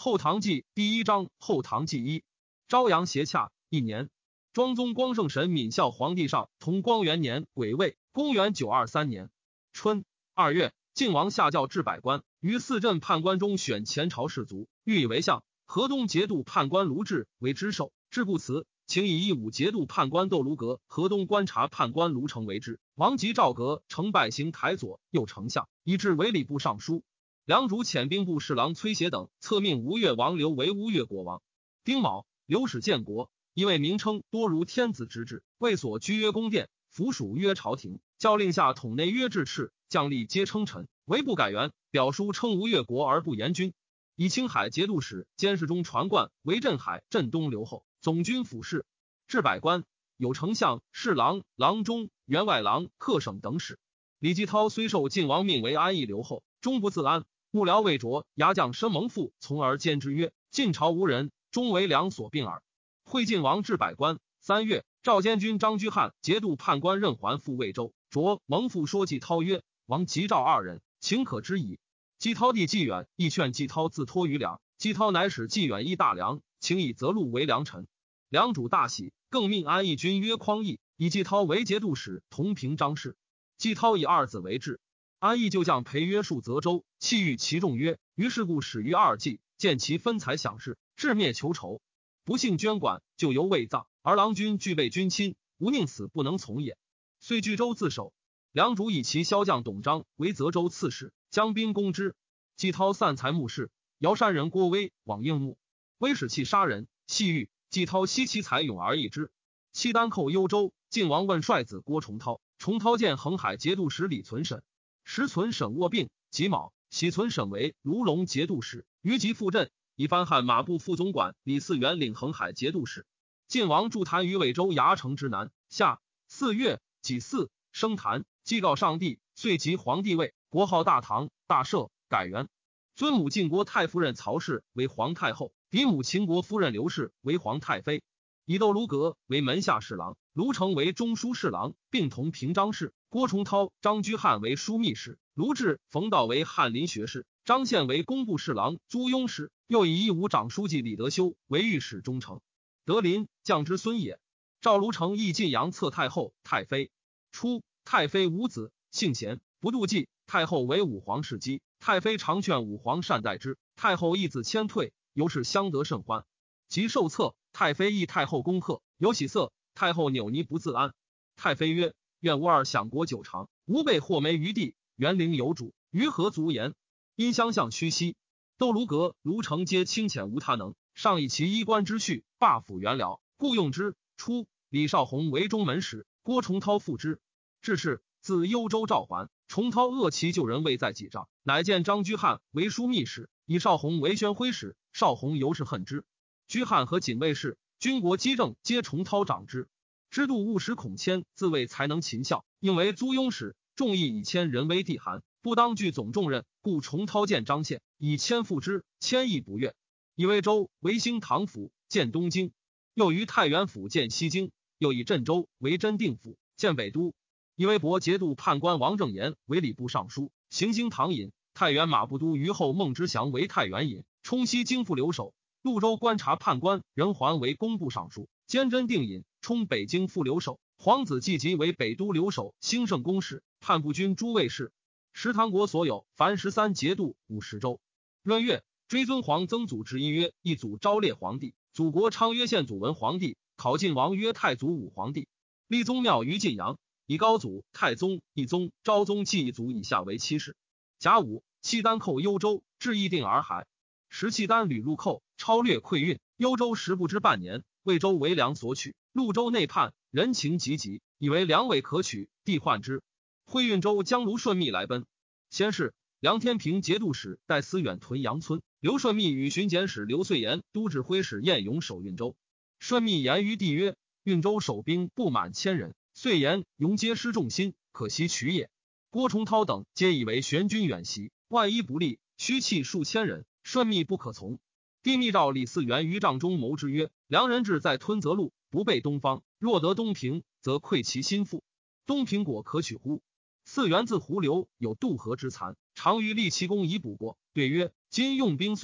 后唐纪第1章后唐纪1。朝阳斜洽1年，庄宗光圣神敏孝皇帝上同光元年癸未，公元923年春2月，晋王下诏至百官，于4镇判官中选前朝士族，欲以为相。河东节度判官卢志为知授，志不辞，请以义武节度判官窦卢阁、河东观察判官卢成为之。王及赵阁成拜行台左右丞相，以至为礼部尚书。梁主遣兵部侍郎崔协等册命吴越王刘为吴越国王。丁卯，刘使建国，因为名称多如天子之制，为所居约宫殿，服属约朝廷，教令下统内约制敕，将吏皆称臣，唯不改元。表书称吴越国而不言君。以青海节度使监视中传冠为镇海镇东留后，总军府事。至百官，有丞相、侍郎、郎中、员外郎、客省等使。李继涛虽受晋王命为安邑留后，终不自安。幕僚魏卓、牙将申蒙父从而谏之曰：晋朝无人，终为良所并耳。会晋王至百官。3月，赵监军张居翰节度判官任还赴魏州。卓、蒙父说季涛曰：王及赵2人，情可知矣。季涛弟季远亦劝季涛自托于梁，季涛乃使季远议大梁，请以泽禄为良臣。梁主大喜，更命安邑君曰匡义，以季涛为节度使，同平章事。季涛以2子为质。安邑就将裴约戍泽州，弃欲其众曰：于是故始于2季，见其分财享事，至灭求仇，不幸捐管，就犹未葬，而郎君具备军亲，吾宁死不能从也。遂据州自守。梁主以其骁将董璋为泽州刺史，将兵攻之。季涛散财募士，尧山人郭威往应募，威使气杀人，细欲季涛惜其财勇而易之。契丹寇幽州，晋王问帅子郭崇韬，崇韬见恒海节度使李存审，时存审卧病，己卯，喜存审为卢龙节度使，于即复镇，以番汉马步副总管李嗣源领恒海节度使。晋王驻坛于魏州牙城之南。夏4月己巳，升坛，祭告上帝，遂即皇帝位，国号大唐，大赦，改元。尊母晋国太夫人曹氏为皇太后，嫡母秦国夫人刘氏为皇太妃。以窦卢阁为门下侍郎，卢成为中书侍郎，并同平章事。郭崇韬、张居翰为枢密使，卢志、冯道为翰林学士，张宪为工部侍郎、租庸使。又以义武长书记李德修为御史中丞。德林，将之孙也。赵卢成亦晋阳册太后、太妃。初，太妃无子，性贤，不妒忌。太后为武皇侍姬，太妃常劝武皇善待之。太后义子谦退，由是相得甚欢。及受册，太妃议太后恭贺，有喜色。太后扭捏不自安。太妃曰：愿吾儿享国久长，吾辈或没于地，园陵有主，于何足言？因相向屈膝。窦卢阁、卢成皆清浅无他能，上以其衣冠之序，罢辅元僚，故用之。初，李少弘为中门使，郭崇韬附之。至是，自幽州召还，崇韬恶其旧人未在己帐，乃见张居翰为枢密使，以少弘为宣徽使。少弘尤是恨之。居翰和锦卫士、军国机政皆崇韬长之。知度务使孔谦自谓才能勤孝，应为租庸使，众议以谦人为地寒，不当具总重任，故崇韬见张宪，以谦附之，谦亦不悦。以魏州为兴唐府，建东京；又于太原府建西京；又以镇州为真定府，建北都。以为博节度判官王正言为礼部尚书，行经唐尹；太原马步都虞候孟之祥为太原尹，冲西京副留守；潞州观察判官任环为工部尚书，兼真定尹，冲北京副留守；皇子季吉为北都留守，兴圣公使，判部军诸卫士。时唐国所有，凡13节度50州。闰月，追尊皇曾祖之一曰一祖昭烈皇帝，祖国昌曰宪祖文皇帝，考晋王曰太祖武皇帝。立宗庙于晋阳，以高祖、太宗、懿宗、昭宗继一族以下为7世。甲午，契丹寇幽州，至议定洱海。时契丹屡入寇，超略溃运，幽州时不知半年，魏州为梁所取。潞州内叛，人情急急，以为梁尾可取，帝患之。会运州将卢顺密来奔。先是，梁天平节度使戴思远屯阳村，刘顺密与巡检使刘遂言、都指挥使晏勇守运州。顺密言于帝曰：运州守兵不满1000人，遂言勇皆失众心，可惜取也。郭崇韬等皆以为玄军远袭，万一不利，虚弃数千人，顺密不可从。帝密诏李嗣源于帐中谋之曰：梁人志在吞泽路，不备东方，若得东平，则溃其心腹。东平果可取乎？嗣源自胡留有渡河之残，常于立其功以补过。对曰：今用兵遂久，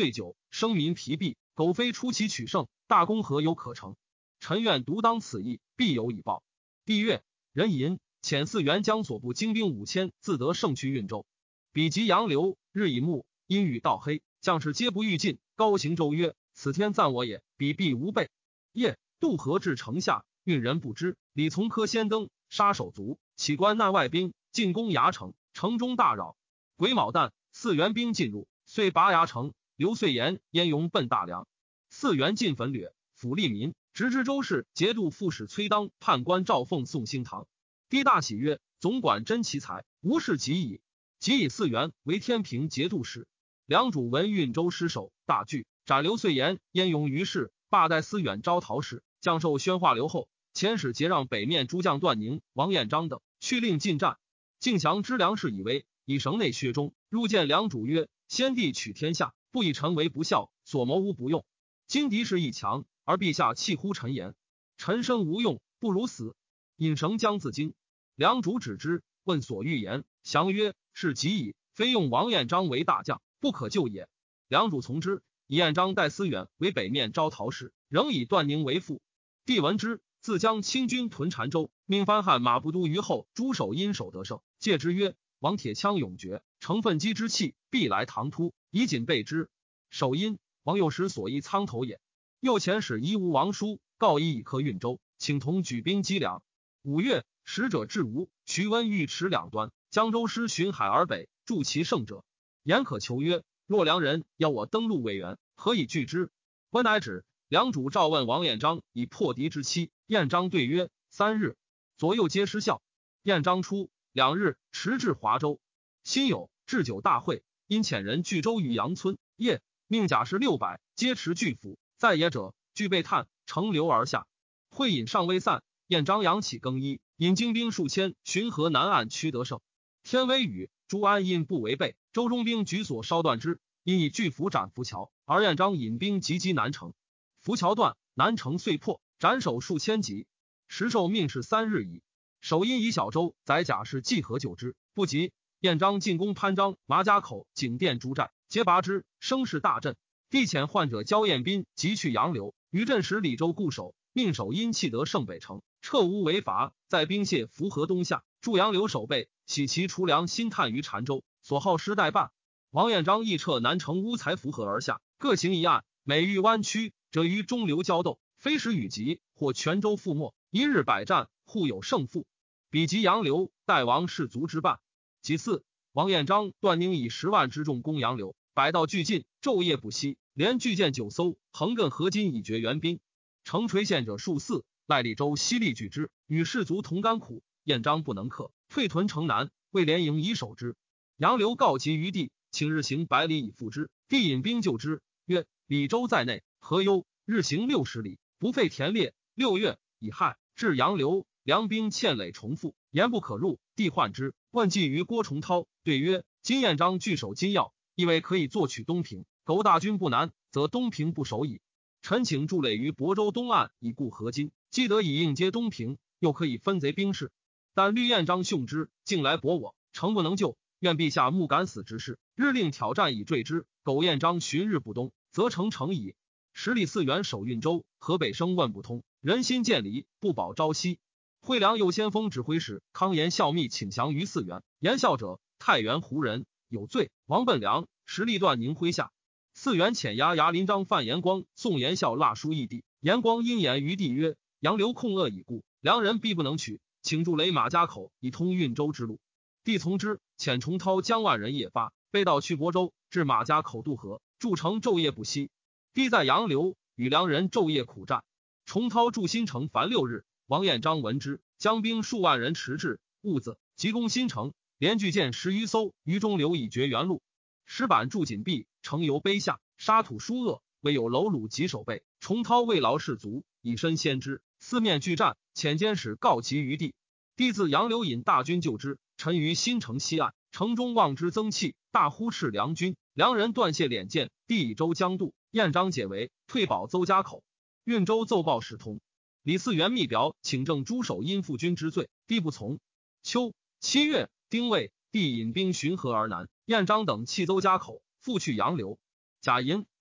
生民疲弊，苟非出其取胜，大功何有可成？臣愿独当此役，必有以报。帝曰：人吟遣4员将所部精兵5000，自得胜去运州。彼及杨流，日以暮，阴雨到黑，将士皆不欲进。高行周曰：此天赞我也，彼必无备。夜渡河至城下，运人不知。李从珂先登，杀手卒，起关难外兵，进攻牙城，城中大扰。癸卯旦，4员兵进入，遂拔牙城。刘遂言、燕勇奔大梁，4员进焚掠，抚利民，直知州事节度副使崔当、判官赵凤送兴堂。帝大喜曰：总管真奇才，无事及矣。即以4员为天平节度使。梁主闻运州失守，大惧，斩刘遂言、燕勇于市，罢代司远招讨使，降授宣化留后。遣使节让北面诸将段宁、王彦章等，去令进战。敬降知梁氏以为，以省内薛中，入见梁主曰：先帝取天下，不以臣为不孝，所谋无不用。今敌势亦强，而陛下弃乎臣言，臣生无用，不如死。引绳将自京。梁主止之，问所欲言，降曰：是极矣，非用王彦章为大将，不可救也。梁主从之，以彦章代司远为北面招讨使，仍以段宁为副。帝闻之，自将清军屯澶州，命番汉马步都虞候诸守因守得胜，戒之曰：王铁枪勇决，乘奋击之气，必来唐突，以谨备之。守因王幼时所依苍头也。右遣使夷吾王叔，告以克运州，请同举兵击梁。5月，使者至吴，徐温尉迟两端，江州师巡海而北，助其胜者。言可求曰：若梁人要我登陆魏援，何以拒之？温乃止。梁主召问王彦章以破敌之期，彦章对曰：3日。左右皆失效。彦章出2日，迟至华州。辛酉，置酒大会，因遣人聚州于阳村。夜，命甲士600，皆持巨斧，在野者俱被炭，乘流而下。会饮尚未散，彦章扬起更衣，引精兵数千，巡河南岸趋得胜。天微雨，朱安因不违背，州中兵举所烧断之，因以巨斧斩浮桥，而彦章引兵急击南城。浮桥断，南城遂破，斩首数千级。时受命是3日矣。守因以小州载甲士济河救之，不及。彦章进攻潘璋、麻家口、景店诸寨，皆拔之，声势大振。帝遣患者焦彦斌急去杨流，于镇使李州固守，命守因弃得胜北城，撤吴为伐，在兵械符河东下，助杨流守备，喜其除粮新探于澶州，所好失代办。王彦章亦撤南城乌才符河而下，各行一案，每遇弯曲者于中流交斗，非时雨急，或泉州覆没，一日百战，互有胜负。比及杨流，代王士卒之半。其次，王彦章、段宁以10万之众攻杨流，百道俱进，昼夜不息，连巨舰9艘，横亘河津以绝援兵。城垂陷者数4，赖利州悉力拒之，与士卒同甘苦。彦章不能克，退屯城南，为连营以守之。杨流告急于帝，请日行100里以复之。帝引兵救之，曰：李州在内，何忧？日行60里，不费田猎。6月，乙亥，至杨流，梁兵堑垒重复，言不可入。帝患之，问计于郭崇韬，对曰：今彦章据守金要，以为可以作取东平，苟大军不难，则东平不守矣。臣请筑垒于亳州东岸，以固河津，既得以应接东平，又可以分贼兵士。但虑彦章凶之，竟来搏我，诚不能救。愿陛下目敢死之事，日令挑战以坠之。苟彦章旬日不东，则成矣。10里4员守运州，河北声问不通，人心渐离，不保朝夕。惠良右先锋指挥使康延效密请降于4员，言效者太原胡人，有罪。王奔良实力段宁麾下。4员遣押牙林章范延光宋延孝蜡书义帝，延光因言于帝曰：杨流控恶已故，梁人必不能取，请筑垒马家口，以通运州之路。帝从之，遣重涛将万人夜发，背道去亳州，至马家口渡河，筑城昼夜不息。帝在杨流，与梁人昼夜苦战。重涛筑新城凡6日。王彦章闻之，将兵数万人迟至，兀子急攻新城，连巨舰10余艘于中流以绝原路。石板筑紧闭，城由卑下，沙土疏恶，未有楼橹及守备。重涛慰劳士卒，以身先之，四面拒战，遣监使告急于帝。帝自杨流引大军救之，陈于新城西岸，城中望之增气，大呼斥梁军。梁人断谢敛剑，帝以州将渡，彦章解围，退保邹家口。运州奏报使通。李嗣源密表请正诸守因负君之罪，帝不从。秋7月，丁未，帝引兵巡河而南，彦章等弃邹家口，复去杨流。贾寅，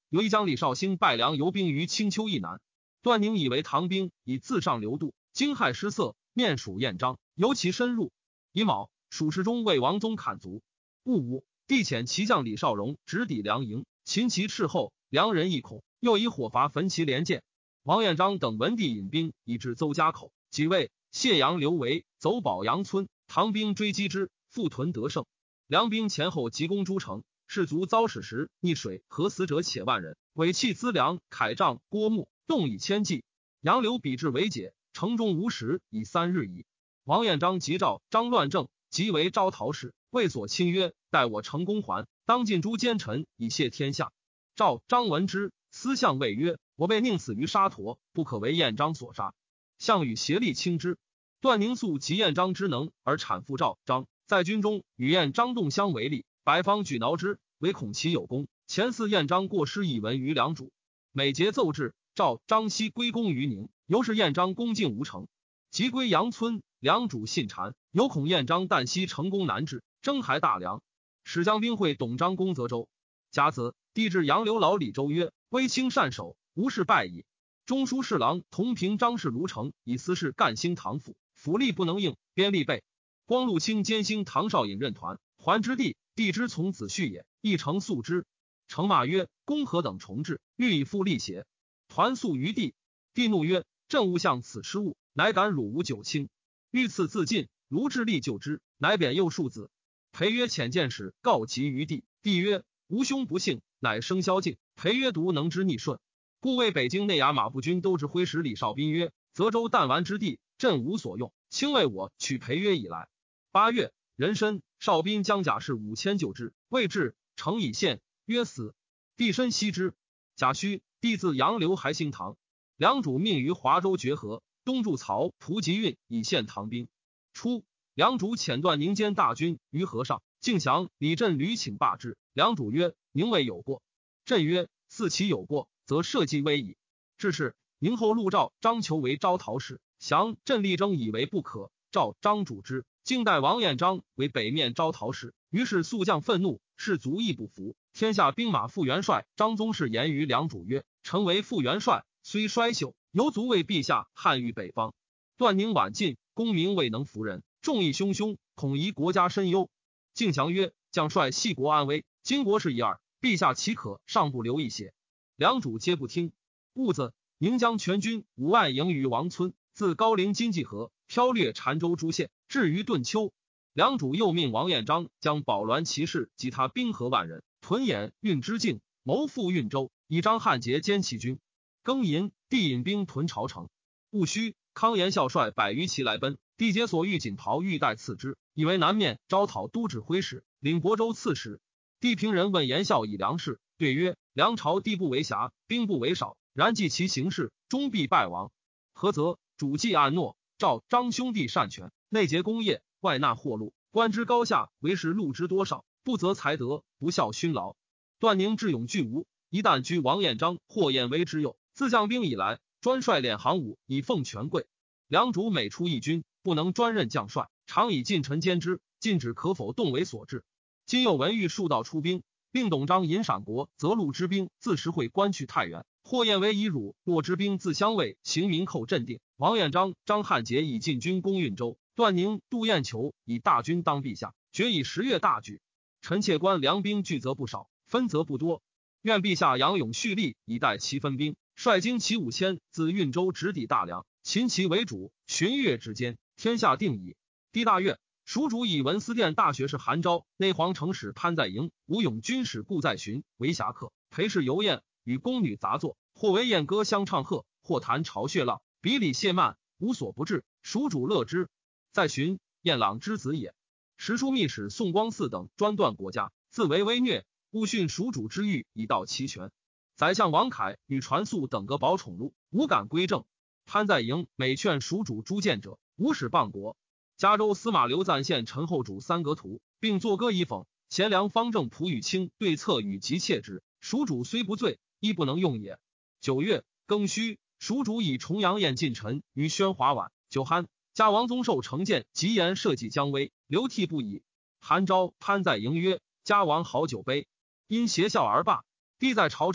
有一将李绍兴败梁游兵于青丘以南。段宁以为唐兵以自上流渡，惊骇失色，面属燕章，由其深入。乙卯，蜀士中为王宗砍卒。戊午，帝遣骑将李绍荣直抵梁营，擒其斥后，梁人亦恐，又以火伐焚其连舰。王彦章等闻帝引兵以至邹家口，即位谢阳刘维走保阳村，唐兵追击之，复屯得胜。梁兵前后急攻诸城，士卒遭矢石溺水，和死者且万人，尾弃资粮、铠杖、郭木，动以千计。杨刘比至为解，城中无食以3日矣。王彦章急召张乱正，即为招讨使，谓所亲曰：待我成功还，当尽诛奸臣，以谢天下。赵张闻之，思相谓曰：我被宁死于沙陀，不可为彦章所杀。项羽协力轻之。段宁素及彦章之能，而产父赵张，在军中与彦章动相为力，百方举挠之，唯恐其有功。前嗣彦章过失以闻于梁主，每节奏至，赵张悉归功于宁，由是彦章攻进无成。即归阳村，梁主信谗，有恐彦章旦夕成功难治，征还大梁，使将兵会董璋攻泽州。甲子，帝至杨刘老李州曰：威清善守，无事败矣。中书侍郎同平张氏卢成以私事干兴唐府，府吏不能应，边吏备。光禄卿兼兴唐绍引任团，还之地，帝之从子婿也，亦承诉之。承骂曰：公何等重治，欲以复立邪？团诉于帝，帝怒曰：朕勿向此失误，乃敢辱吾九卿。欲赐自尽，卢致力救之，乃贬右庶子。裴曰遣见使告急于帝，帝曰：吾兄不幸，乃生萧敬。裴曰：独能之逆顺。故为北京内衙马步军都指挥使李绍宾曰：泽州弹丸之地，朕无所用，卿为我取裴约以来。8月，壬申，绍宾将甲士5000救之，未至，城已陷，曰死。帝深悉之。甲戌，帝自杨刘还兴唐。梁主命于华州绝河，东筑曹蒲集运，以陷唐兵。初，梁主遣段宁兼大军于河上，敬降李振屡请罢之。梁主曰：宁未有过。振曰：似其有过，则社稷危矣。至是，宁后陆召张求为招讨使，降振力争以为不可，召张主之，竟代王彦章为北面招讨使。于是肃将愤怒，士卒亦不服。天下兵马副元帅张宗室言于梁主曰：臣为副元帅，虽衰朽，犹足为陛下汉御北方。段宁晚进，功名未能服人，众议汹汹，恐疑国家深忧。敬降曰：将帅系国安危，今国事已二，陛下岂可尚不留一些？梁主皆不听。戊子，宁将全军5万营于王村，自高陵金济河飘掠澶州诸县，至于顿丘。梁主又命王彦章将保鸾骑士及他兵合万人，屯演运之境，谋复运州，以张汉节兼其军。庚寅，帝引兵屯朝城。戊戌，康延孝率100余骑来奔，帝解所欲锦袍玉带赐之，以为南面招讨都指挥使，领亳州刺史。帝平人问延孝以粮事，对曰：梁朝地不为狭，兵不为少，然计其行事，终必败亡。何则？主计按诺，召张兄弟擅权，内结功业，外纳货禄，官之高下，为是禄之多少，不择才德，不效勋劳。段宁智勇俱无，一旦居王彦章、霍彦威之右，自将兵以来，专率敛行伍，以奉权贵。梁主每出一军，不能专任将帅，常以近臣监之，禁止可否动为所制。今又闻欲数道出兵，令董璋引陕国择路之兵自石会关去太原，霍彦威以汝洛之兵自襄卫行明寇镇定。王彦章、张汉节以进军攻运州，段宁、杜彦求以大军当陛下，决以10月大举。臣妾观良兵聚则不少，分则不多，愿陛下扬勇蓄力，以待其分兵，率精骑5000自运州直抵大梁，秦其为主，旬月之间，天下定矣。第大月，蜀主以文思殿大学士韩昭、内皇城使潘在营、吴勇军使顾在寻为侠客，陪侍游宴，与宫女杂作，或为宴歌相唱和，或谈巢穴浪，比礼谢慢，无所不至，蜀主乐之。在寻，晏朗之子也。时书密使宋光嗣等专断国家，自为威虐，勿训蜀主之欲，以道其权。宰相王恺与传肃等各保宠禄，无敢归正。潘在营每劝蜀主诛谏者，无使谤国。嘉州司马刘赞献陈后主3阁图，并作歌以讽。贤良方正蒲与清对策与急切之，蜀主虽不罪，亦不能用也。9月，庚戌，蜀主以重阳宴近臣于宣华晚，酒酣。加王宗寿成谏极言社稷将危，流涕不已。韩昭、潘在营曰：加王好酒杯，因邪笑而罢。帝在朝城，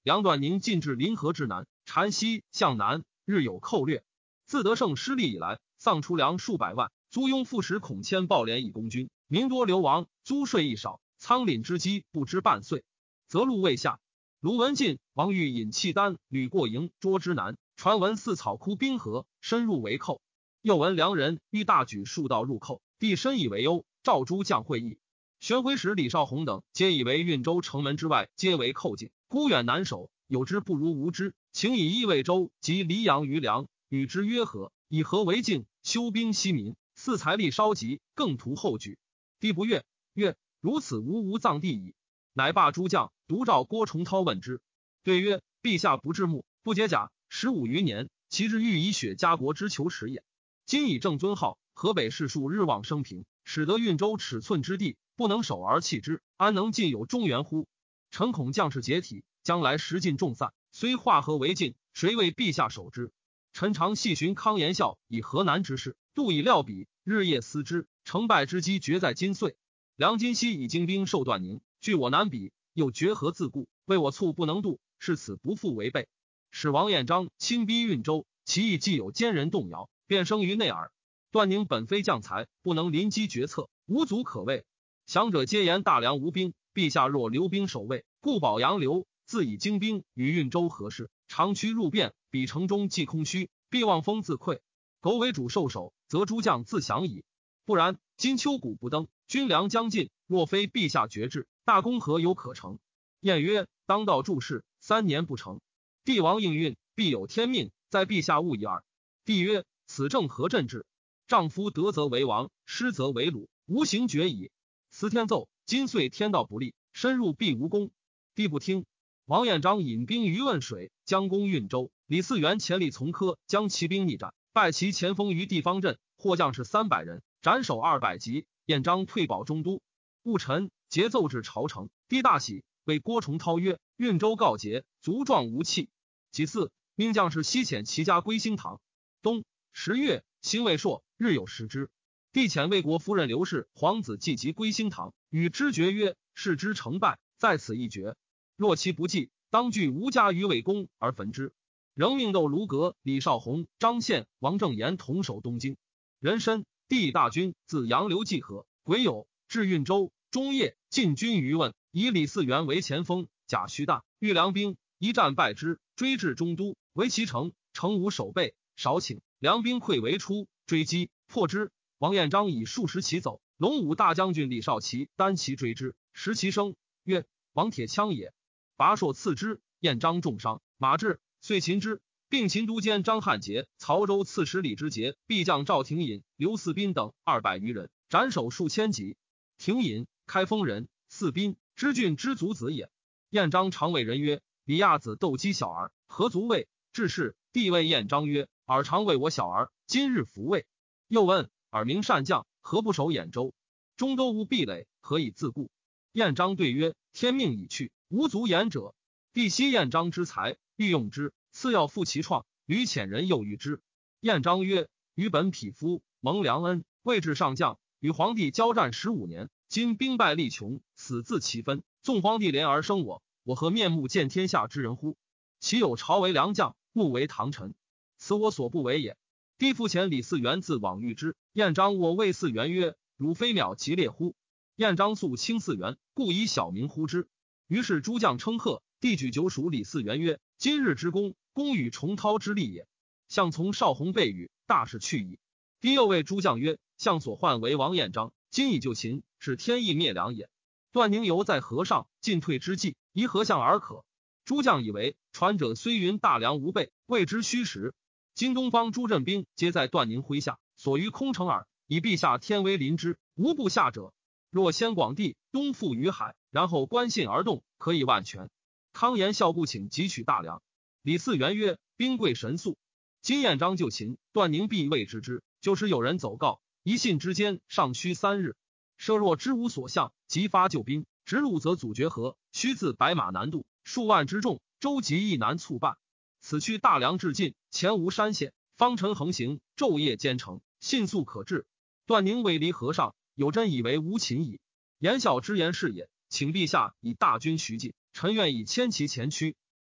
梁段宁进至临河之南，禅西向南，日有寇掠。自得胜失利以来，丧出粮数百万，租庸副使孔谦暴敛以攻军，民多流亡，租税亦少，仓廪之积不知半岁。则路未下。卢文进、王玉引契丹屡过营捉之南，传闻四草枯冰河，深入为寇。又闻梁人欲大举数道入寇，帝深以为忧，召诸将会议。玄回使李少红等皆以为运州城门之外皆为寇境，孤远难守，有之不如无之，请以益魏州及黎阳于梁，与之约和，以和为境，休兵息民，似财力稍急，更图后举。帝不悦，曰：如此无葬地矣。乃罢诸将，独召郭崇韬问之，对曰：陛下不至木，不解甲，15余年，其日欲以雪家国之求耻也。今以正尊号，河北士庶日望生平，使得运州尺寸之地，不能守而弃之，安能尽有中原乎？臣恐将士解体，将来食尽众散，虽化河为境，谁为陛下守之？臣常细寻康延孝以河南之事，度以料比，日夜思之，成败之机决在今岁。梁今西以精兵受段宁，据我难比，又决河自固，为我猝不能渡，是此不复为备。使王彦章亲逼运州，其意既有奸人动摇，便生于内耳。段宁本非将才，不能临机决策，无足可畏。降者皆言大梁无兵，陛下若留兵守卫，故保杨刘，自以精兵与运州合适，长驱入汴，彼城中既空虚，必望风自溃。苟为主受守，则诸将自降矣。不然，今秋谷不登，军粮将尽，若非陛下决志，大功何有可成？晏曰：当道注事，3年不成。帝王应运，必有天命，在陛下勿已耳。帝曰：此正何朕志？丈夫得则为王，失则为虏，无行决矣。辞天奏，今岁天道不利，深入必无功。帝不听。王彦章引兵于汶水，将攻运州。李嗣源前力从科，将骑兵逆战，败其前锋于地方阵，获将士300人，斩首200级。彦章退保中都。戊辰，节奏至朝城，帝大喜，谓郭崇韬曰：运州告捷，卒壮无弃。其次，命将士西遣其家归兴堂。冬10月，辛未朔，日有食之。帝遣魏国夫人刘氏皇子季及归兴堂，与之决曰：事之成败，在此一决。若其不济，当据吴家于魏宫而焚之。仍命窦卢阁、李少红、张宪、王正言同守东京。壬申，帝以大军自杨刘济河，癸酉，至运州。中夜，进军于汶，以李嗣源为前锋，贾胥大、豫良兵一战败之，追至中都，围其城，城无守备，少顷，梁兵溃围出，追击，破之。王彦章以数十骑走，龙武大将军李少奇单骑追之，食其生，曰：王铁枪也。拔槊刺之，彦章重伤，马至，遂擒之。并秦都监张汉杰、曹州刺史李之杰、裨将赵廷隐、刘嗣宾等200余人，斩首数千级。廷隐，开封人，嗣宾，知郡之族子也。彦章常谓人曰：李亚子斗击小儿，何足畏？至是，帝谓彦章曰：尔常谓我小儿，今日弗畏。又问：尔明善将，何不守兖州？中都无壁垒，何以自固？彦章对曰：天命已去，无足言者。帝惜彦章之才，欲用之，次要复其创，屡遣人诱遇之。彦章曰：余本匹夫，蒙良恩，位至上将，与皇帝交战15年，今兵败力穷，死自其分。纵皇帝怜而生我，我何面目见天下之人乎？其有朝为良将，目为唐臣，此我所不为也。帝复遣李嗣源自往遇之。彦章我谓嗣源曰：汝非渺其烈乎？彦章素轻嗣源，故以小名呼之。于是诸将称贺。帝举酒属李嗣源曰：今日之功，功与崇韬之力也。相从少弘备语，大事去矣。帝又谓诸将曰：相所患为王彦章，今以救秦，是天意灭梁也。段宁犹在河上，进退之计，宜何相而可？诸将以为传者虽云大梁无备，谓之虚实。今东方诸镇兵皆在段宁麾下，所于空城耳，以陛下天威临之，无不下者。若先广地，东附于海，然后观信而动，可以万全。康延孝不请汲取大梁。李嗣源曰：兵贵神速，今彦章就秦，段宁必未知之。就是有人走告，一信之间，尚需3日。设若知无所向，即发救兵，直路则阻绝河，须自白马南渡，数万之众，舟楫亦难促办。此去大梁至尽，前无山险，方尘横行，昼夜兼程，迅速可至。段宁未离河上，有真以为无秦矣。言孝之言是也，请陛下以大军徐进，臣愿以千骑前驱。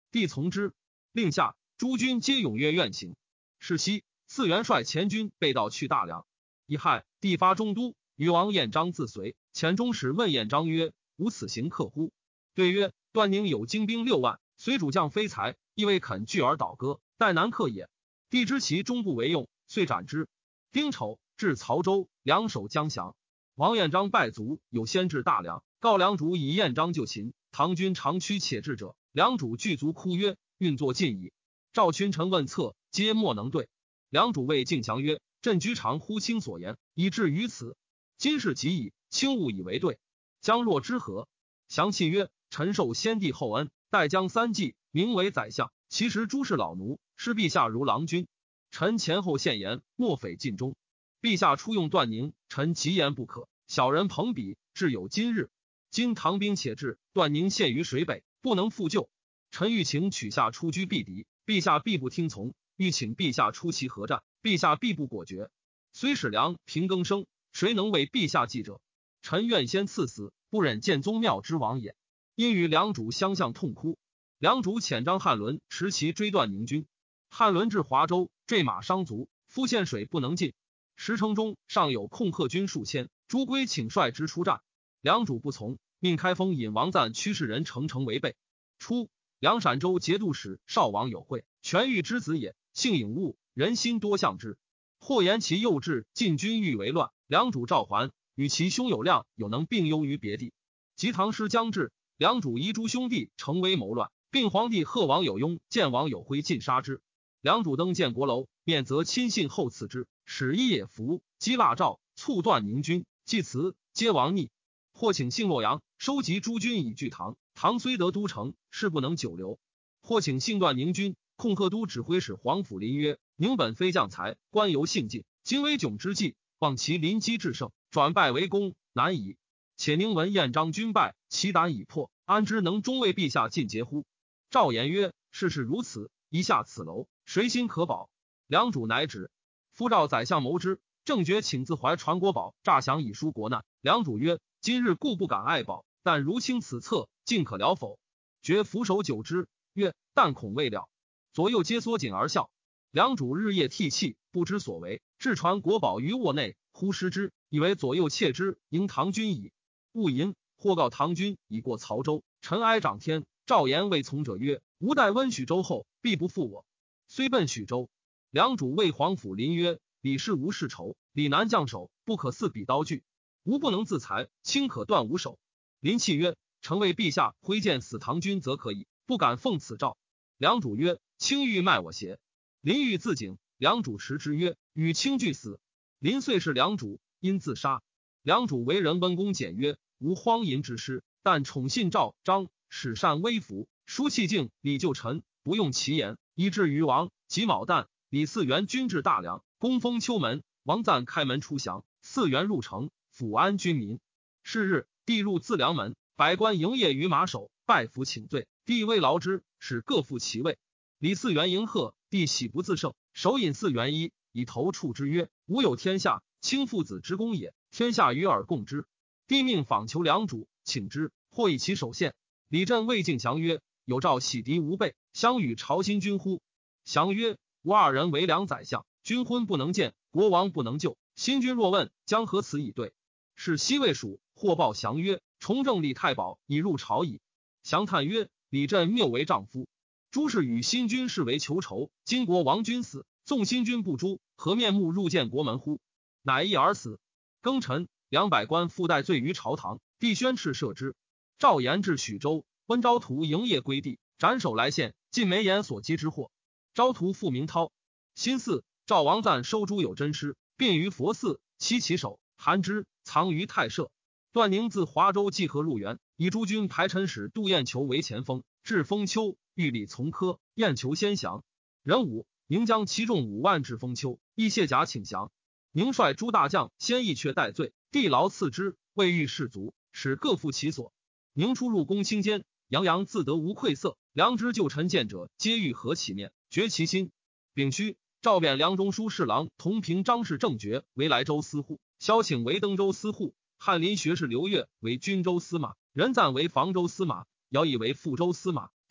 帝从之。令下，诸军皆踊跃愿行。是夕，4元帅前军被盗去大梁。乙亥，帝发中都，与王彦章自随。遣中使问彦章曰：吾此行客乎？对曰：段宁有精兵6万，随主将非才，亦未肯拒而倒戈，待难克也。帝知其终不为用，遂斩之。丁丑，至曹州，两守将降。王彦章败卒，有先至大梁，告梁主以彦章救秦。唐军长驱且至者，梁主具足哭曰：运作尽矣。赵群臣问策，皆莫能对。梁主谓敬降曰：朕居常乎卿所言，以至于此。今事极矣，卿勿以为对。将若之何？降泣曰：臣受先帝厚恩，待将3季，名为宰相。其实诸事老奴，视陛下如郎君。臣前后献言，莫匪尽忠。陛下初用段宁，臣极言不可。小人朋比，至有今日。今唐兵且至，段宁陷于水北，不能复救。臣欲请取下出居避敌，陛下必不听从；欲请陛下出其合战，陛下必不果决。虽使梁平更生，谁能为陛下计者？臣愿先赐死，不忍见宗庙之亡也。因与梁主相向痛哭。梁主遣张翰伦持其追段宁军。翰伦至华州，坠马伤足，夫陷水不能进。石城中尚有控贺军数千，朱圭请率之出战，梁主不从，命开封引王赞驱士人乘城为备。初，梁陕州节度使少王有会，权欲之子也，性颖悟，人心多向之。或言其幼稚，进军欲为乱。梁主召还，与其兄友亮有能并优于别地。及唐师将至，梁主遗诸兄弟成为谋乱，并皇帝贺王有雍见王有辉尽杀之。梁主登建国楼，面则亲信后赐之，使一野服，击腊赵，促断宁军，祭祠，皆亡逆。或请信洛阳，收集诸军以拒唐。唐虽得都城，事不能久留。或请信段宁军，控贺都指挥使黄甫林曰：宁本非将才，官由性尽，今危窘之际，望其临机制胜，转败为功，难矣。且宁闻彦章军败，其胆已破，安知能终为陛下尽节乎？赵言曰：事事如此，一下此楼，谁心可保？梁主乃止。夫赵宰相谋之，正觉请自怀传国宝，诈降以纾国难。梁主曰：今日固不敢爱保，但如卿此策，尽可了否？觉俯首久之，曰：但恐未了。左右皆缩紧而笑。梁主日夜涕泣，不知所为，至传国宝于卧内，忽失之，以为左右窃之，迎唐军矣。勿淫，或告唐军已过曹州，尘埃长天。赵言谓从者曰：吾待温许州后，必不负我。虽奔许州。梁主谓黄甫林曰：李氏无世仇，李南将手，不可似比刀具。吾不能自裁，卿可断吾手。林泣曰：臣为陛下挥剑死唐军则可以，不敢奉此诏。梁主曰：卿欲卖我邪？林欲自警，梁主持之曰：与卿俱死。林遂是梁主，因自杀。梁主为人温公简约，无荒淫之师，但宠信赵张，使善微服，疏气敬李旧臣，不用其言，以至于王。己卯旦，李嗣源军至大梁，攻封丘门，王赞开门出降，嗣源入城，抚安军民。是日，帝入自梁门，百官营业于马首，拜服请罪。帝未劳之，使各复其位。李嗣源迎贺，帝喜不自胜，手引嗣源衣，以头触之曰：吾有天下，卿父子之功也，天下与尔共之。帝命访求梁主，请之，或以其首献。李振谓敬降曰：有诏洗涤吾辈，相与朝新君乎？降曰：吾二人为梁宰相，君婚不能见，国王不能救。新君若问，将何辞以对？是西魏蜀，或报降曰：重政李太保已入朝矣。降叹曰：李振谬为丈夫。诸事与新君视为求仇，今国王君死，纵新君不诛，何面目入见国门乎？乃一而死。庚辰，200官附带罪于朝堂，帝宣敕赦之。赵延至许州，温昭图营业归地，斩首来献，尽梅岩所积之祸。昭图复名涛。辛巳，赵王赞收诸有真师，并于佛寺，期其首，含之，藏于太社。段宁自华州济河入援，以诸军排陈使杜彦求为前锋，至封丘，欲立从科，彦求先降。壬午，宁将其众5万至封丘，亦卸甲请降。宁率诸大将先一阙戴罪，帝劳赐之，未遇士卒，使各复其所。宁出入宫卿间，洋洋自得无愧色，良知旧臣见者，皆欲合其面，绝其心。丙戌，诏贬梁中书侍郎同平张氏正爵为莱州司户，萧请为登州司户，翰林学士刘越为军州司马，任赞为房州司马，姚以为富州司马，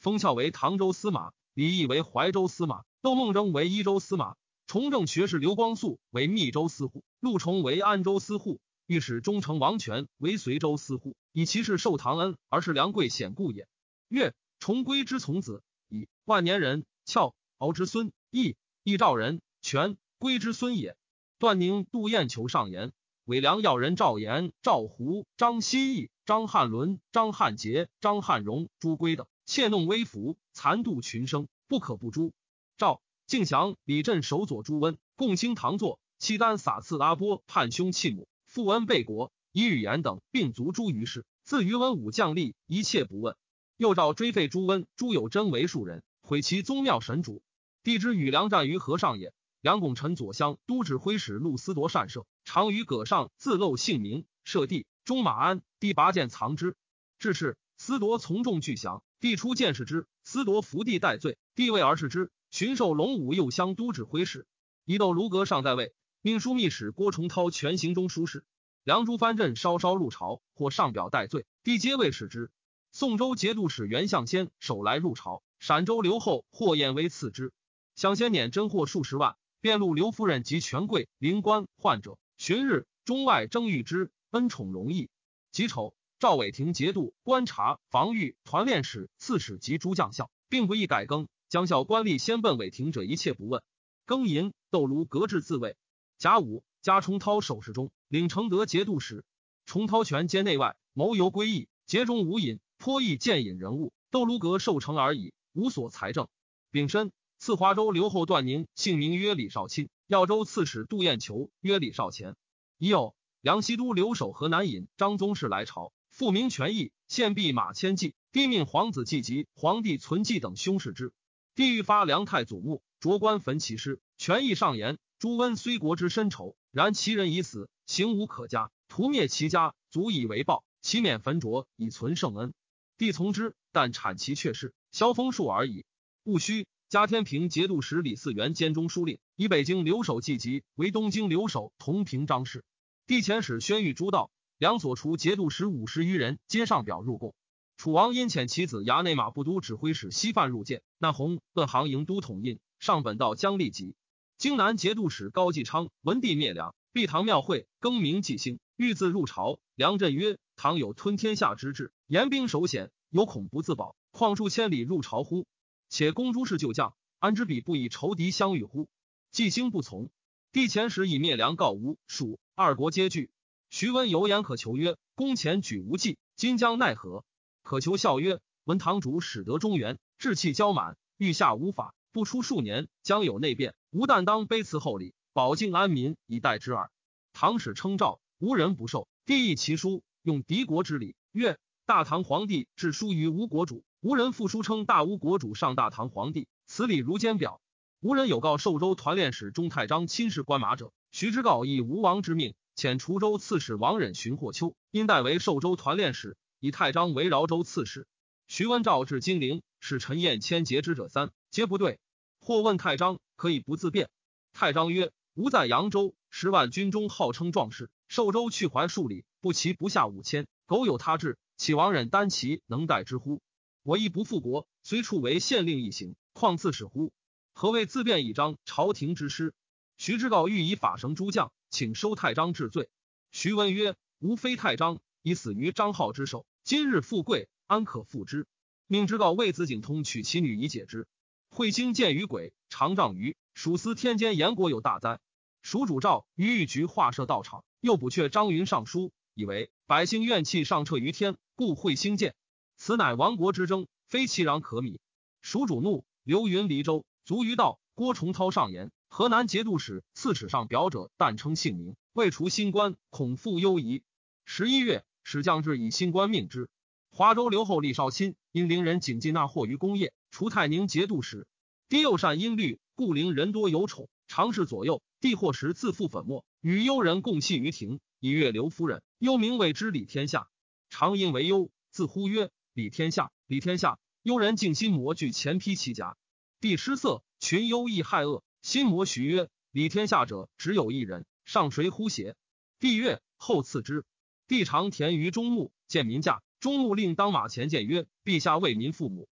封翘为唐州司马，李毅为怀州司马，窦孟征为益州司马，崇政学士刘光素为密州司户，陆崇为安州司户，御史中丞王权为随州司户，以其是受唐恩而是梁贵显故也。岳崇归之从子，以万年人，翘敖之孙，益赵人，权归之孙也。段宁、杜彦求上言，伪梁要人赵岩、赵胡、张希义、张翰伦、张翰杰、张翰荣、朱圭等窃弄微服，残度群生，不可不诛。赵敬降、李振守佐朱温，共卿唐作，契丹撒刺阿波叛兄弃母，复恩备国，以语言等并族诛于世。自于文武将吏，一切不问。又诏追废朱温、朱有贞为庶人，毁其宗庙神主。帝之与梁战于河上也。梁拱臣左相都指挥使陆思铎善射，常于葛上自漏姓名，射帝。中马安，帝拔剑藏之。至是，思铎从众俱降，帝出见视之，思铎伏地戴罪，帝位而视之，巡狩龙武右乡都指挥使。一窦卢阁尚在位，命枢密使郭崇韬全行中书事。梁朱藩镇稍入朝，或上表戴罪，帝皆未使之。宋州节度使袁象先手来入朝，陕州刘后或燕威赐之。象先辇真货数十万。便录刘夫人及权贵、灵官、患者，旬日中外争遇之，恩宠容易。己丑，赵伟廷节度、观察、防御、团练使、刺史及诸将校，并不宜改更。将校官吏先奔伟廷者，一切不问。庚寅，窦卢革制自卫。甲午，加崇涛守侍中，领承德节度使。崇涛权兼内外，谋游归义，节中无隐，颇易见隐人物。窦卢革受成而已，无所财政。丙申，赐华州留后段宁，姓名曰李少钦；耀州刺史杜彦求曰李少乾。已有梁西都留守河南尹张宗室来朝，复明权益，献弼马千骑。帝命皇子季及皇帝存纪等兄视之。帝欲发梁太祖墓，着官焚其尸。权益上言：朱温虽国之深仇，然其人已死，刑无可加，屠灭其家，足以为报，其免焚灼，以存圣恩。帝从之，但产其阙事，萧封数而已。戊戌，加天平节度使李嗣源兼中书令，以北京留守季吉为东京留守同平章事。帝遣使宣谕诸道，梁所除节度使50余人，皆上表入贡。楚王因遣其子衙内马步都指挥使西范入见，那弘奔行营都统印，上本道将立即。京南节度使高继昌闻帝灭梁，闭堂庙会，更名纪兴，欲自入朝。梁震曰：唐有吞天下之志，严兵守险，有恐不自保，况数千里入朝乎？且公诸事旧将，安知彼不以仇敌相遇乎？纪兴不从。帝遣使以灭梁告吴、蜀二国皆惧。徐温有言可求曰：公前举无忌，今将奈何？可求笑曰：闻堂主始得中原，志气骄满，欲下无法，不出数年，将有内变，吾但当卑辞厚礼，保境安民，以待之耳。唐使称诏，无人不受。帝议其书，用敌国之礼，曰：大唐皇帝致书于吴国主，无人复书称大吴国主上大唐皇帝，此礼如坚表。无人有告寿州团练使钟太章亲事官马者，徐之告以吴王之命，遣滁州刺史王忍寻霍丘，因代为寿州团练使，以太章为饶州刺史。徐温诏至金陵，使陈彦谦节之者3，皆不对。或问太章，可以不自辩？太章曰：吾在扬州10万军中，号称壮士，寿州去怀数里，不齐不下5000，苟有他志，岂王忍单骑能待之乎？我亦不复国，虽处为县令一行，况刺史乎？何谓自辩以彰朝廷之师？徐之告欲以法绳诸将，请收太章治罪。徐温曰：吾非太章，已死于张浩之手，今日富贵，安可复之？命之告为子景通娶其女以解之。彗星见于鬼，常丈余，蜀司天监严国有大灾。蜀主诏于御局画设道场，又补阙张云上书，以为百姓怨气上彻于天，故彗星见。此乃亡国之争，非其壤可米。蜀主怒，刘云离州，卒于道。郭崇韬上言：河南节度使刺史上表者，但称姓名，未除新官，恐复忧疑。11月，使将至以新官命之。华州留后李少钦因陵人景进纳货于功业，除太宁节度使。帝又善音律，故陵人多有宠，常侍左右。帝或时自负粉末，与幽人共戏于庭，以阅刘夫人。幽名谓之李天下，常因为幽，自呼曰：李天下，李天下。幽人竟心魔具前披其甲。帝失色，群幽亦害恶。心魔许曰：李天下者，只有一人，上谁乎邪？帝曰：后赐之。帝常田于中牧，见民驾，中牧令当马前见曰：陛下为民父母，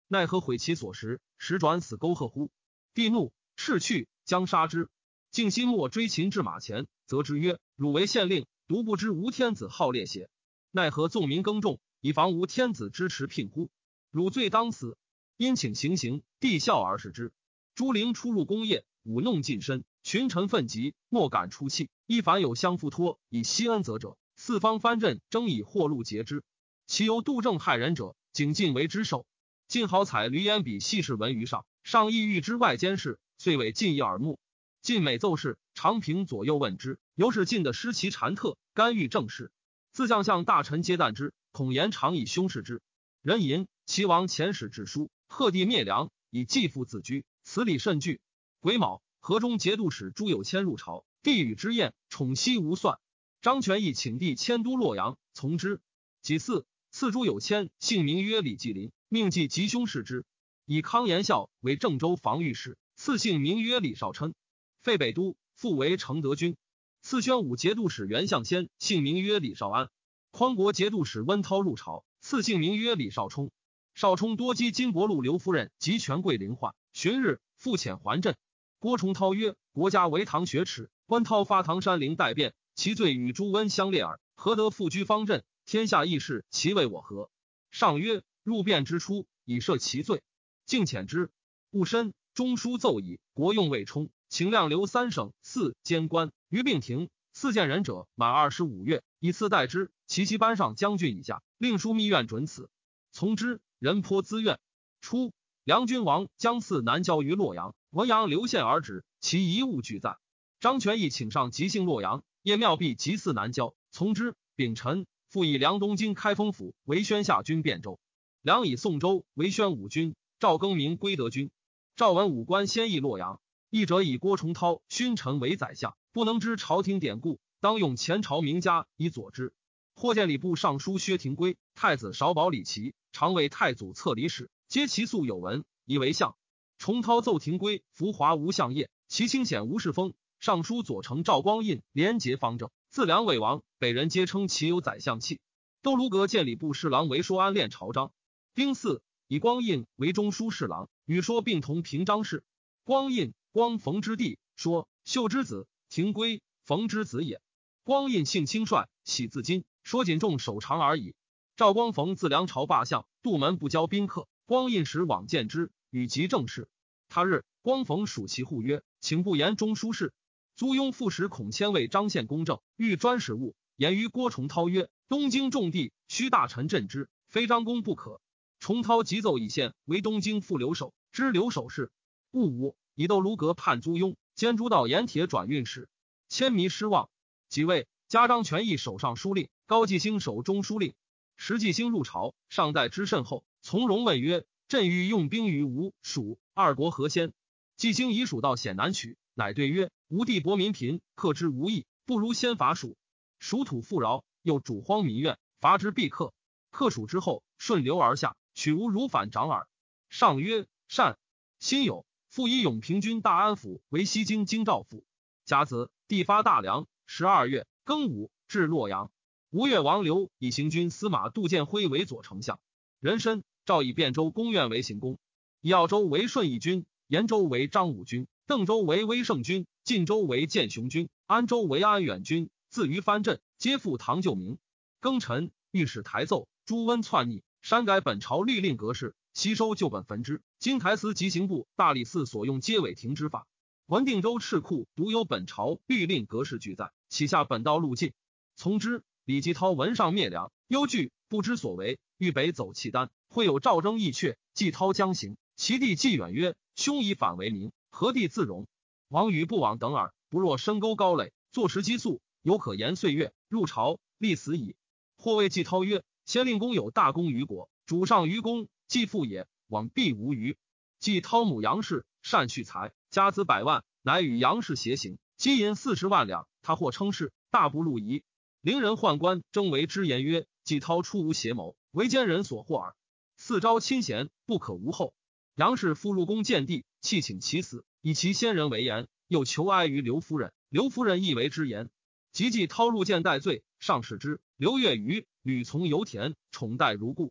奈何毁其所食，时转死沟壑乎？帝怒，斥去，将杀之。敬心莫追秦至马前，责之曰：汝为县令，独不知吴天子好猎邪？奈何纵民耕种，以防吴天子支持聘乎？汝罪当死。因请行刑，帝笑而视之。朱灵出入宫业，舞弄近身，群臣愤急，莫敢出气。一凡有相付托，以息恩泽者，四方藩镇争以获禄节之。其由杜正害人者，景进为之首。晋好采闾阎比细事闻于上，上意欲之外监事，遂为晋一耳目。晋每奏事，常平左右问之，由是晋的失其禅特，干预政事。自将相大臣皆惮之，恐言常以凶视之。人吟齐王遣使致书，贺帝灭梁，以继父自居，此礼甚具。癸卯，河中节度使朱有谦入朝，帝与之宴，宠惜无算。张权义请帝迁都洛阳，从之。己巳，赐朱有谦姓名曰李继林，命继吉凶视之。以康延孝为郑州防御使，赐姓名曰李少琛。废北都，复为承德军。赐宣武节度使袁象先姓名曰李少安。匡国节度使温韬入朝，赐姓名曰李少冲。少冲多击金帛禄刘夫人及权贵凌患，旬日复遣还镇。郭崇韬曰：国家为唐学耻，温韬发唐山陵代变，其罪与朱温相列耳，何得复居方镇？天下义士，其为我何？上曰：入变之初，以赦其罪。敬遣之。戊申，中书奏议国用魏冲，请量留三省四监官于并庭，四见人者满25月，以次代之。其班上将军以下，令书密院准此。从之。人颇自愿。初，梁君王将赐南郊于洛阳，文阳流县而止，其遗物俱在。张权义请上即幸洛阳，夜庙壁即祀南郊，从之。丙辰，复以梁东京开封府为宣下军汴州。梁以宋州为宣武军，赵更名归德军。赵文武官先议洛阳，议者以郭崇韬勋臣为宰相，不能知朝廷典故，当用前朝名家以佐之。或见礼部尚书薛廷圭、太子少保李琦、常为太祖册礼史，皆其素有文，以为相。崇韬奏廷圭浮华无相业，其清显无事风。尚书左丞赵光胤廉洁方正，自梁魏王，北人皆称其有宰相气。窦卢阁见礼部侍郎为说安恋朝章。丁巳，以光胤为中书侍郎，与说并同平章事。光胤，光冯之弟，说秀之子，廷圭冯之子也。光胤性轻率，喜自矜，说仅重守常而已。赵光冯自梁朝罢相，杜门不交宾客，光胤时往见之，与及政事。他日，光冯属其户曰：请不言中书事。租庸副使孔谦为张献公正，欲专使务，言于郭崇韬曰：东京重地，须大臣镇之，非张公不可。崇韬即奏以县为东京副留守，知留守事。戊午，以窦卢阁判租庸，兼诸道盐铁转运使。谦迷失望。即位，加张权义守尚书令，高季兴守中书令。时季兴入朝，上待之甚厚，从容问曰：朕欲用兵于吴、蜀二国何先？季兴以蜀道险难取，乃对曰：吴地薄民贫，克之无益，不如先伐蜀。蜀土富饶，又主荒民怨，伐之必克。克蜀之后，顺流而下，取吴如反掌耳。上曰：善。辛酉，复以永平军大安府为西京京兆府。甲子，帝发大梁。12月，庚午，至洛阳。吴越王刘以行军司马杜建辉为左丞相。壬申，诏以汴州公院为行宫，以耀州为顺义军，延州为张武军，邓州为威胜军，晋州为建雄军，安州为安远军，自于藩镇，皆复唐旧名。庚辰，御史台奏朱温篡逆，删改本朝律令格式，悉收旧本焚之。今台司及刑部、大理寺所用皆违停之法。文定州敕库独有本朝律令格式俱在，启下本道路径。从之。李继涛闻上灭梁，忧惧，不知所为，欲北走契丹。会有赵征义阙，继涛将行，其弟季远曰：兄以反为名，何地自容？王与不往等耳。不若深沟高垒，坐实激素，犹可延岁月。入朝，立死矣。或谓季涛曰：先令公有大功于国，主上于公，继父也，往必无余。季涛母杨氏善蓄财，家资100万，乃与杨氏偕行，积银40万两。他或称是，大不路夷。陵人宦官争为之言曰：季涛出无邪谋，为奸人所惑耳。四招亲贤，不可无后。杨氏复入宫见帝，弃请其死，以其先人为言，又求哀于刘夫人。刘夫人亦为之言。及季涛入见戴罪，上使之。刘月余屡从油田，宠待如故。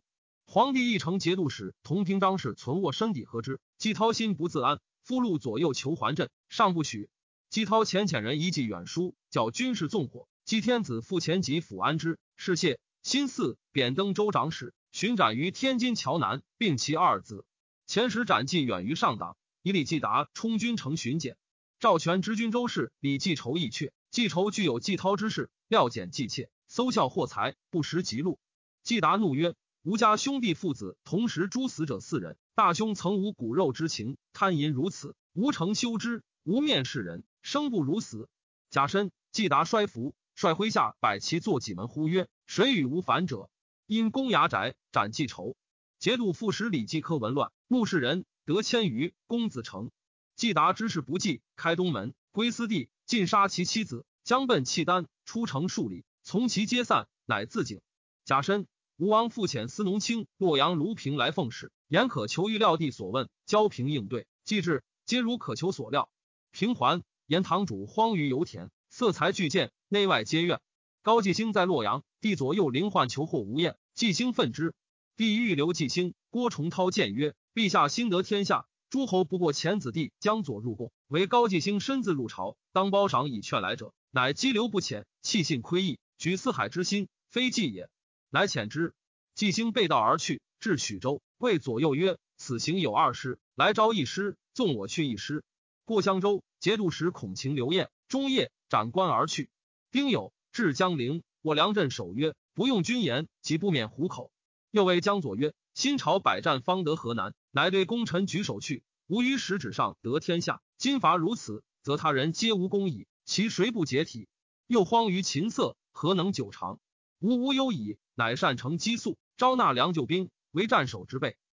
皇帝一乘节度使同平章事存握身抵和之，季涛心不自安，俘虏左右求还镇，上不许。季涛遣人一寄远书，叫军士纵火。季天子复前及抚安之，是谢辛巳贬登州长史，巡斩于天津桥南，并其二子。前时斩季远于上党，以李继达充军城巡检。赵全知军州事，李继仇意阙，季仇具有季涛之事，料检季妾，搜效获财，不识极禄。季达怒曰：吾家兄弟父子同时诛死者4人，大兄曾无骨肉之情，贪淫如此，无诚修之，无面视人，生不如死。甲申，季达衰服，率麾下百骑坐戟门，呼曰：谁与无反者？因攻衙宅，斩季仇。节度副使李继科闻乱，目视人得1000余，公子成。季达知事不济，开东门，归私地，尽杀其妻子，将奔契丹，出城数里，从其皆散，乃自警。甲申，吴王复遣司农卿洛阳卢平来奉使，言可求于料地所问，交平应对。既至，皆如可求所料。平还，言堂主荒于油田，色彩俱见，内外皆怨。高季兴在洛阳，帝左右灵患求获无厌，季兴愤之。帝欲留季兴，郭崇韬谏曰：陛下兴得天下，诸侯不过前子弟江左入贡，唯高季兴身自入朝，当褒赏以劝来者，乃激流不浅，弃信窥义，举四海之心，非计也。乃遣之。季兴背道而去，至许州，谓左右曰：此行有2师，来招1师，纵我去1师。过襄州，节度使孔晴刘晏中夜斩官而去。丁酉，至江陵，我梁镇守曰：不用军言，即不免虎口。又谓江左曰：新朝百战方得河南，乃对功臣举手去，吾于实质上得天下，今伐如此，则他人皆无功矣，其谁不解体？又荒于秦色，何能久长？吾无忧矣，乃善成激素，招纳良救兵，为战守之备。